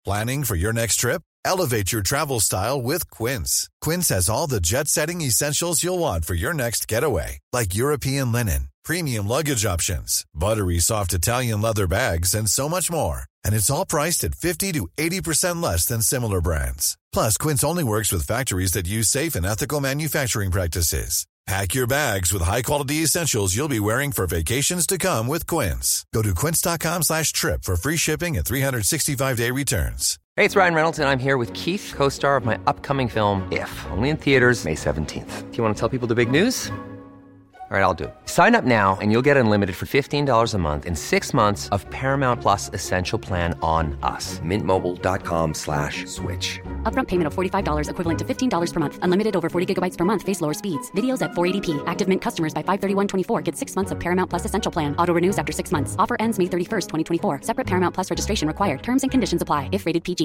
Planning for your next trip? Elevate your travel style with Quince. Quince has all the jet-setting essentials you'll want for your next getaway, like European linen, premium luggage options, buttery soft Italian leather bags, and so much more. And it's all priced at 50 to 80% less than similar brands. Plus, Quince only works with factories that use safe and ethical manufacturing practices. Pack your bags with high-quality essentials you'll be wearing for vacations to come with Quince. Go to quince.com/trip for free shipping and 365-day returns. Hey, it's Ryan Reynolds, and I'm here with Keith, co-star of my upcoming film, If, only in theaters May 17th. Do you want to tell people the big news? All right, I'll do it. Sign up now and you'll get unlimited for $15 a month and 6 months of Paramount Plus Essential Plan on us. MintMobile.com/switch. Upfront payment of $45 equivalent to $15 per month. Unlimited over 40 gigabytes per month. Face lower speeds. Videos at 480p. Active Mint customers by 531.24 get 6 months of Paramount Plus Essential Plan. Auto renews after 6 months. Offer ends May 31st, 2024. Separate Paramount Plus registration required. Terms and conditions apply if rated PG.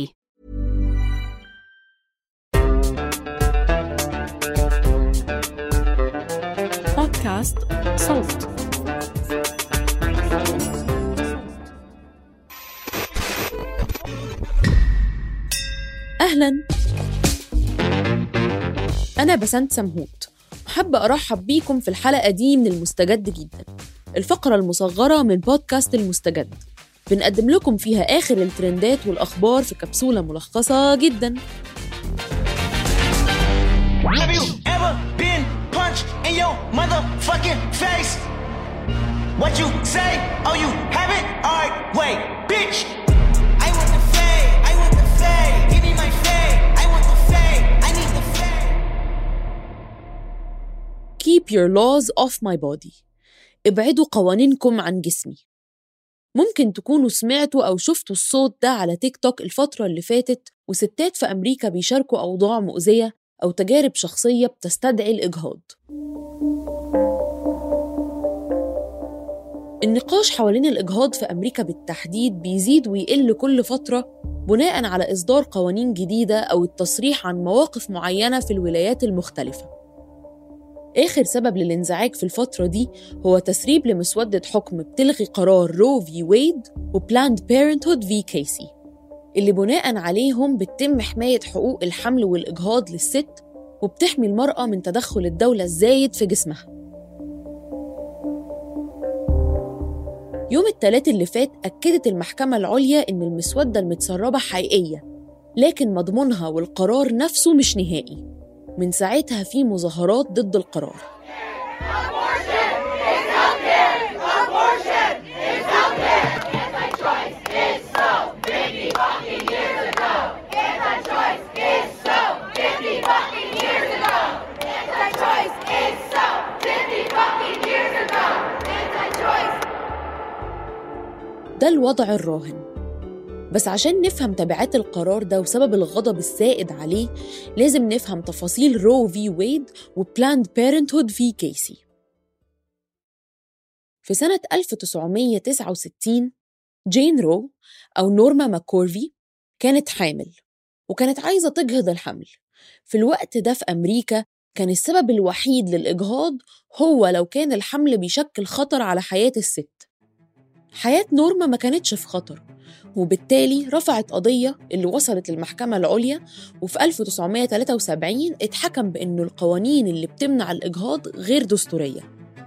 بودكاست صوت. أهلاً، أنا بسنت سمهوت، وحابة أرحب بيكم في الحلقة دي من المستجد جداً، الفقرة المصغرة من بودكاست المستجد. بنقدم لكم فيها آخر الترندات والأخبار في كبسولة ملخصة جداً. Have you ever been punched in your motherfucking face? What you say? Oh, you haven't? Alright, wait, bitch. I want the fade, I want the fade. Give me my fade, I want the fade, I need the fade. Keep your laws off my body. ابعدوا قوانينكم عن جسمي. ممكن تكونوا سمعتوا أو شفتوا الصوت ده على تيك توك الفترة اللي فاتت، وستات في أمريكا بيشاركوا أوضاع مؤذية أو تجارب شخصية بتستدعي الإجهاض. النقاش حوالين الإجهاض في أمريكا بالتحديد بيزيد ويقل كل فترة بناء على إصدار قوانين جديدة أو التصريح عن مواقف معينة في الولايات المختلفة. آخر سبب للانزعاج في الفترة دي هو تسريب لمسودة حكم بتلغي قرار رو في ويد وبلاند بيرنتهود في كيسي، اللي بناء عليهم بتتم حماية حقوق الحمل والإجهاض للست وبتحمي المرأة من تدخل الدولة الزايد في جسمها. يوم الثلاث اللي فات أكدت المحكمة العليا إن المسودة المتسربة حقيقية، لكن مضمونها والقرار نفسه مش نهائي. من ساعتها في مظاهرات ضد القرار. ده الوضع الراهن. بس عشان نفهم تبعات القرار ده وسبب الغضب السائد عليه لازم نفهم تفاصيل رو في ويد وبلاند بيرنتهود في كيسي. في سنة 1969 جين رو أو نورما ماكورفي كانت حامل وكانت عايزة تجهض الحمل. في الوقت ده في أمريكا كان السبب الوحيد للإجهاض هو لو كان الحمل بيشكل خطر على حياة الست. حياة نورما ما كانتش في خطر، وبالتالي رفعت قضية اللي وصلت للمحكمة العليا، وفي 1973 اتحكم بأنه القوانين اللي بتمنع الإجهاض غير دستورية.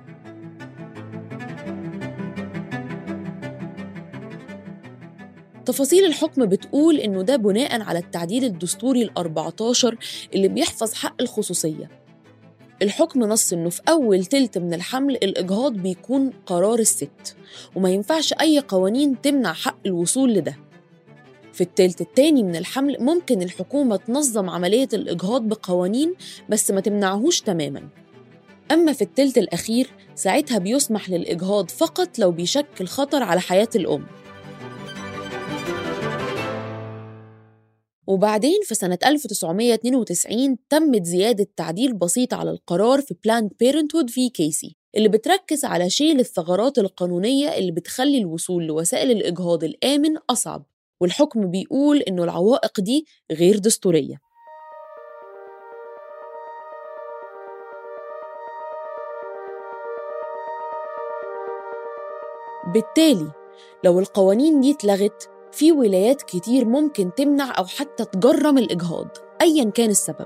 تفاصيل الحكم بتقول إنه ده بناء على التعديل الدستوري ال14 اللي بيحفظ حق الخصوصية. الحكم نص إنه في أول تلت من الحمل الإجهاض بيكون قرار الست، وما ينفعش أي قوانين تمنع حق الوصول لده. في التلت التاني من الحمل ممكن الحكومة تنظم عملية الإجهاض بقوانين بس ما تمنعهوش تماماً. أما في التلت الأخير ساعتها بيسمح للإجهاض فقط لو بيشكل خطر على حياة الأم. وبعدين في سنة 1992 تمت زيادة تعديل بسيط على القرار في بلاند بيرنتهود في كيسي، اللي بتركز على شيل الثغرات القانونية اللي بتخلي الوصول لوسائل الإجهاض الآمن أصعب، والحكم بيقول إنه العوائق دي غير دستورية. بالتالي لو القوانين دي اتلغت في ولايات كتير ممكن تمنع أو حتى تجرم الإجهاض أياً كان السبب.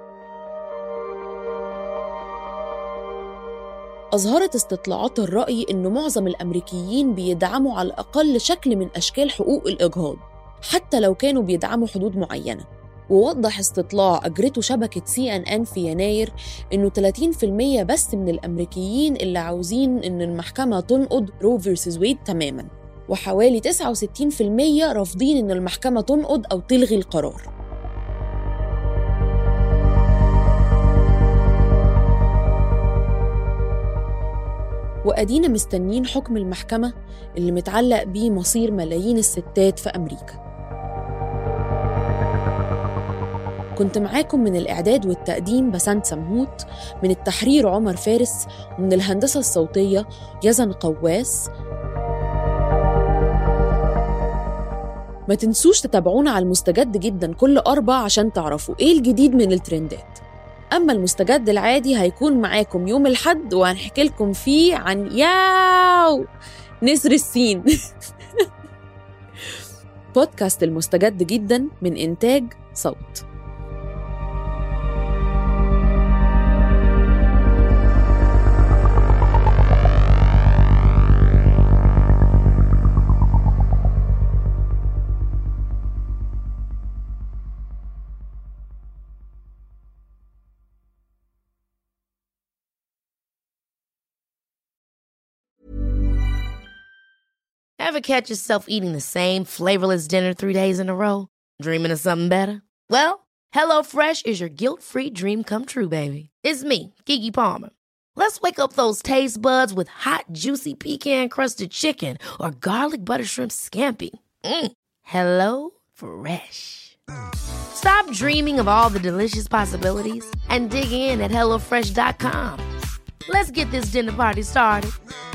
أظهرت استطلاعات الرأي إن معظم الأمريكيين بيدعموا على الأقل شكل من أشكال حقوق الإجهاض حتى لو كانوا بيدعموا حدود معينة. ووضح استطلاع أجرته شبكة CNN في يناير إنه 30% بس من الأمريكيين اللي عاوزين إن المحكمة تنقض رو فيرسز ويد تماماً، وحوالي 69% رافضين إن المحكمة تنقض أو تلغي القرار. وأدينا مستنين حكم المحكمة اللي متعلق بيه مصير ملايين الستات في أمريكا. كنت معاكم من الإعداد والتقديم بسنت سمهوت، من التحرير عمر فارس، ومن الهندسة الصوتية يزن قواس. ما تنسوش تتابعونا على المستجد جدا كل 4 عشان تعرفوا إيه الجديد من الترندات. أما المستجد العادي هيكون معاكم يوم الأحد، وهنحكي لكم فيه عن ياو نسر السين. بودكاست المستجد جدا من إنتاج صوت. Ever catch yourself eating the same flavorless dinner 3 days in a row? Dreaming of something better? Well, HelloFresh is your guilt-free dream come true, baby. It's me, Keke Palmer. Let's wake up those taste buds with hot, juicy pecan-crusted chicken or garlic butter shrimp scampi. HelloFresh. Stop dreaming of all the delicious possibilities and dig in at HelloFresh.com. Let's get this dinner party started.